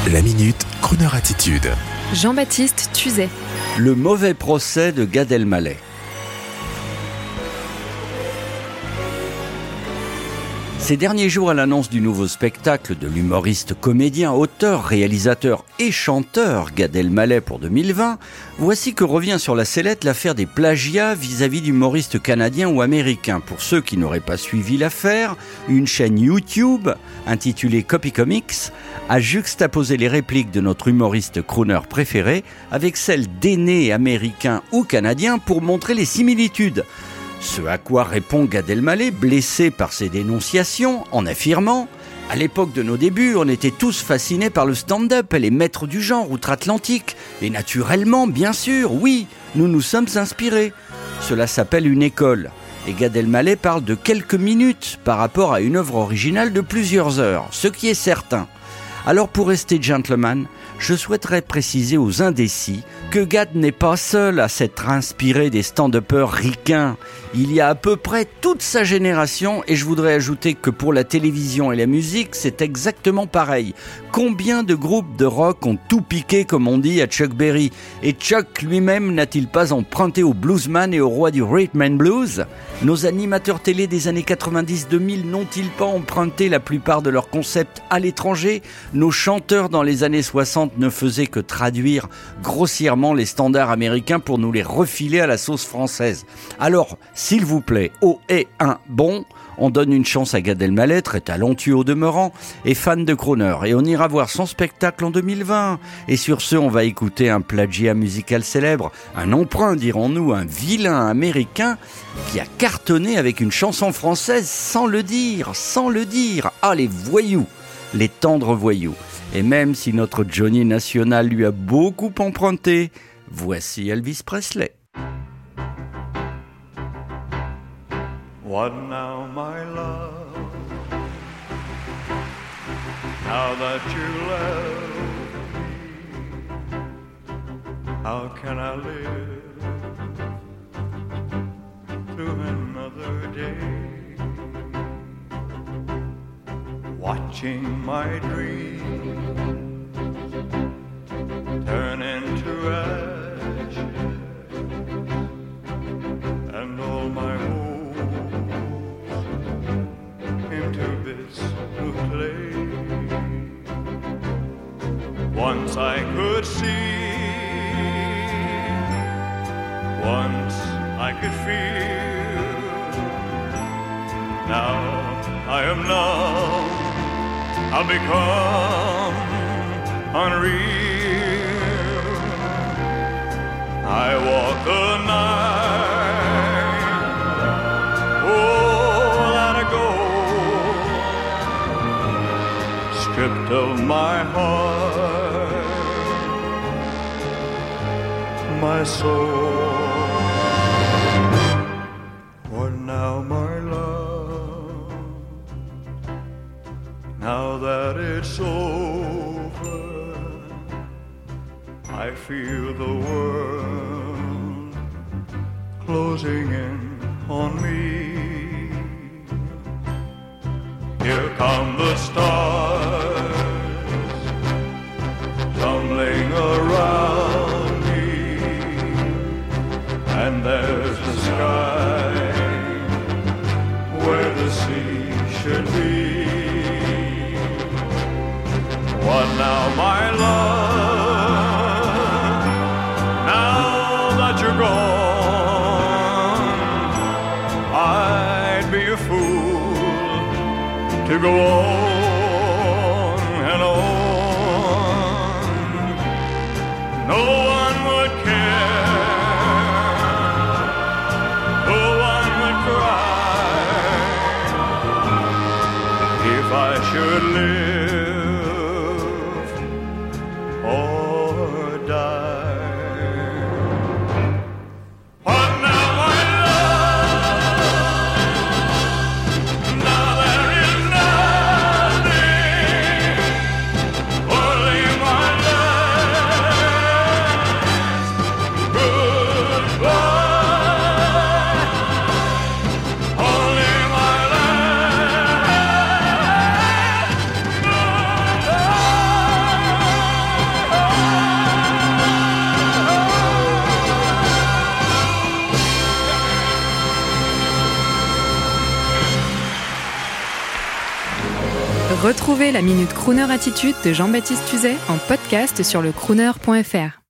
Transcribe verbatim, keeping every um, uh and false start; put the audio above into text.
La Minute, Crooner Attitude. Jean-Baptiste Tuzet. Le mauvais procès de Gad Elmaleh. Ces derniers jours, à l'annonce du nouveau spectacle de l'humoriste comédien, auteur, réalisateur et chanteur Gad Elmaleh pour deux mille vingt, voici que revient sur la sellette l'affaire des plagiats vis-à-vis d'humoristes canadiens ou américains. Pour ceux qui n'auraient pas suivi l'affaire, une chaîne YouTube intitulée Copy Comics a juxtaposé les répliques de notre humoriste crooner préféré avec celles d'aînés américains ou canadiens pour montrer les similitudes. Ce à quoi répond Gad Elmaleh, blessé par ces dénonciations, en affirmant « À l'époque de nos débuts, on était tous fascinés par le stand-up et les maîtres du genre outre-Atlantique. Et naturellement, bien sûr, oui, nous nous sommes inspirés. Cela s'appelle une école. » Et Gad Elmaleh parle de quelques minutes par rapport à une œuvre originale de plusieurs heures, ce qui est certain. Alors pour rester gentleman, je souhaiterais préciser aux indécis que Gad n'est pas seul à s'être inspiré des stand-uppers ricains. Il y a à peu près toute sa génération, et je voudrais ajouter que pour la télévision et la musique, c'est exactement pareil. Combien de groupes de rock ont tout piqué, comme on dit, à Chuck Berry? Et Chuck lui-même n'a-t-il pas emprunté au bluesman et au roi du rhythm and blues? Nos animateurs télé des années quatre-vingt-dix deux mille n'ont-ils pas emprunté la plupart de leurs concepts à l'étranger? Nos chanteurs dans les années soixante ne faisaient que traduire grossièrement les standards américains pour nous les refiler à la sauce française. Alors, s'il vous plaît, oh et un bon, on donne une chance à Gad Elmaleh, très talentueux au demeurant, et fan de crooner. Et on ira voir son spectacle en deux mille vingt. Et sur ce, on va écouter un plagiat musical célèbre, un emprunt, dirons-nous, un vilain américain qui a cartonné avec une chanson française sans le dire, sans le dire. Ah, les voyous, les tendres voyous. Et même si notre Johnny National lui a beaucoup emprunté, voici Elvis Presley. What now, my love, now that you left me, how can I live through another day, watching my dreams turn into ashes, and all my hopes into bits of clay. Once I could see, once I could feel, now I am numb, I've become unreal. I walk the night, oh, let it go, stripped of my heart, my soul. What now, my love, now that it's over, I feel the world closing in on me. Here come the stars tumbling around me, and there's the sky where the sea should be. What now, my love, now that you're gone, I'd be a fool to go on and on. No one would care, no one would cry, if I should live Retrouvez la Minute Crooner Attitude de Jean-Baptiste Tuzet en podcast sur le crooner point f r.